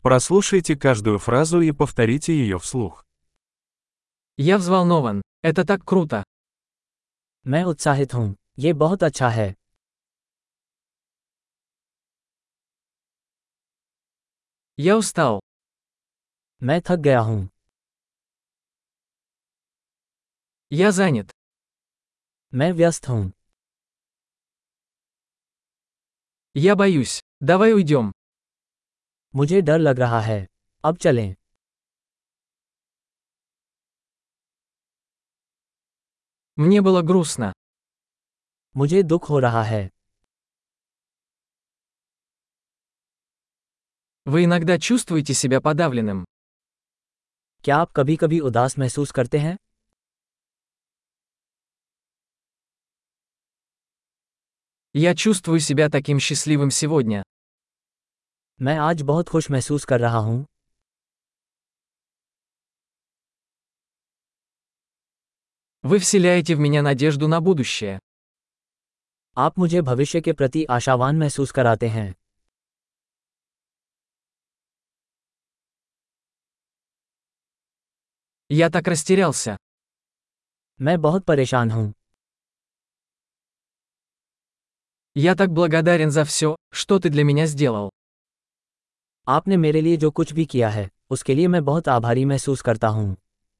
Прослушайте каждую фразу и повторите ее вслух. Я взволнован. Это так круто. मैं उत्साहित हूँ। ये बहुत अच्छा है। Я устал. मैं थक गया हूँ। Я занят. मैं व्यस्त हूँ। Я боюсь. Давай уйдем. मुझे डर लग रहा है। अब चलें। Мне было грустно. मुझे दुख हो रहा है। Вы иногда чувствуете себя подавленным? क्या आप कभी-कभी उदास महसूस करते हैं? Я чувствую себя таким счастливым сегодня. मैं आज बहुत खुश महसूस कर रहा हूँ। Вы вселяете в меня надежду на будущее. आप मुझे भविष्य के प्रति आशावान महसूस कराते हैं। Я так растерялся. मैं बहुत परेशान हूँ। Я так благодарен за все, что ты для меня сделал. आपने मेरे लिए जो कुछ भी किया है, उसके लिए मैं बहुत आभारी महसूस करता हूँ।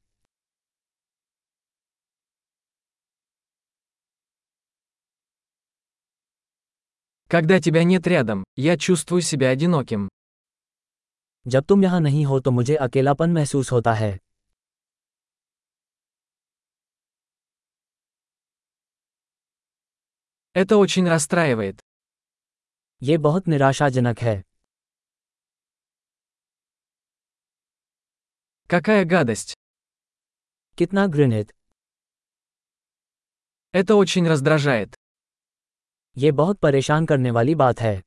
Когда тебя нет рядом, я чувствую себя одиноким. जब तुम यहाँ नहीं हो तो मुझे अकेलापन महसूस होता है। Это очень расстраивает. ये बहुत निराशाजनक है। Какая гадость. कितना घृणित। Это очень раздражает. ये बहुत परेशान करने वाली बात है।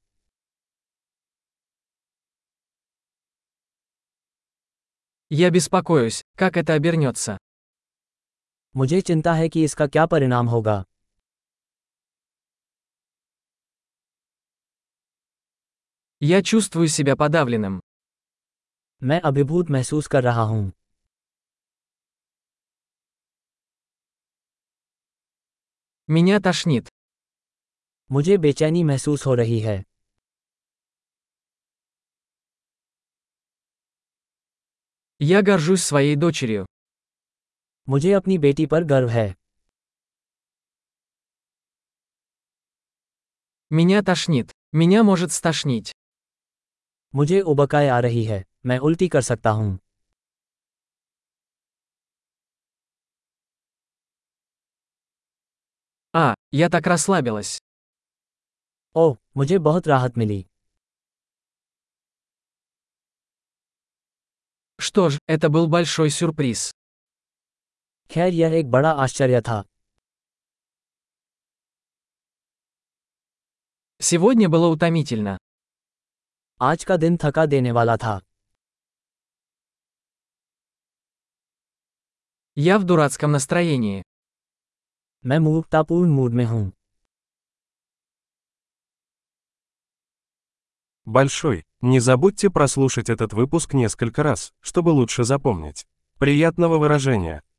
Я беспокоюсь, как это обернется. मुझे चिंता है कि इसका क्या परिणाम होगा। Я чувствую себя подавленным. मैं अभिभूत महसूस कर रहा हूँ। Меня тошнит. मुझे बेचैनी महसूस हो रही है। Я горжусь своей дочерью. मुझे अपनी बेटी पर गर्व है। Меня тошнит. Меня может стошнить. मुझे उबकाई आ रही है। मैं उल्टी कर सकता हूँ। Я так расслабилась. ओह, मुझे बहुत राहत मिली। Что ж, это был большой сюрприз. खैर यह एक बड़ा आश्चर्य था। Сегодня было утомительно. आज का दिन थका देने वाला था। Я в дурацком настроении. मैं मूर्खतापूर्ण मूड में हूँ। Большой. Не забудьте прослушать этот выпуск несколько раз, чтобы лучше запомнить. Приятного выражения!